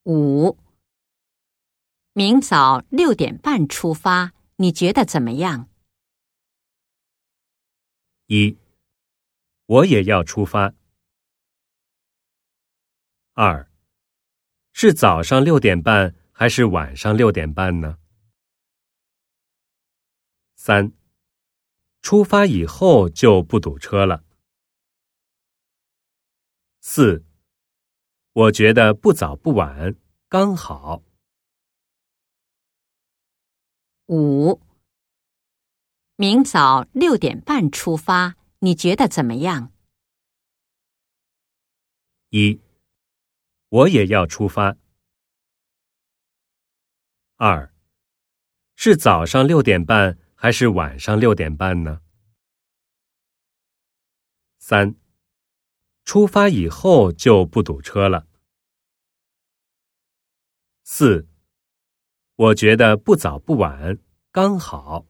5. 明早6点半出发，你觉得怎么样 ？1. 我也要出发。2. 是早上6点半还是晚上6点半呢？3. 出发以后就不堵车了。4. 我觉得不早不晚，刚好。 5. 明早6点半出发，你觉得怎么样 ？1. 我也要出发。2. 是早上6点半还是晚上6点半呢？3. 出发以后就不堵车了。4. 我觉得不早不晚，刚好。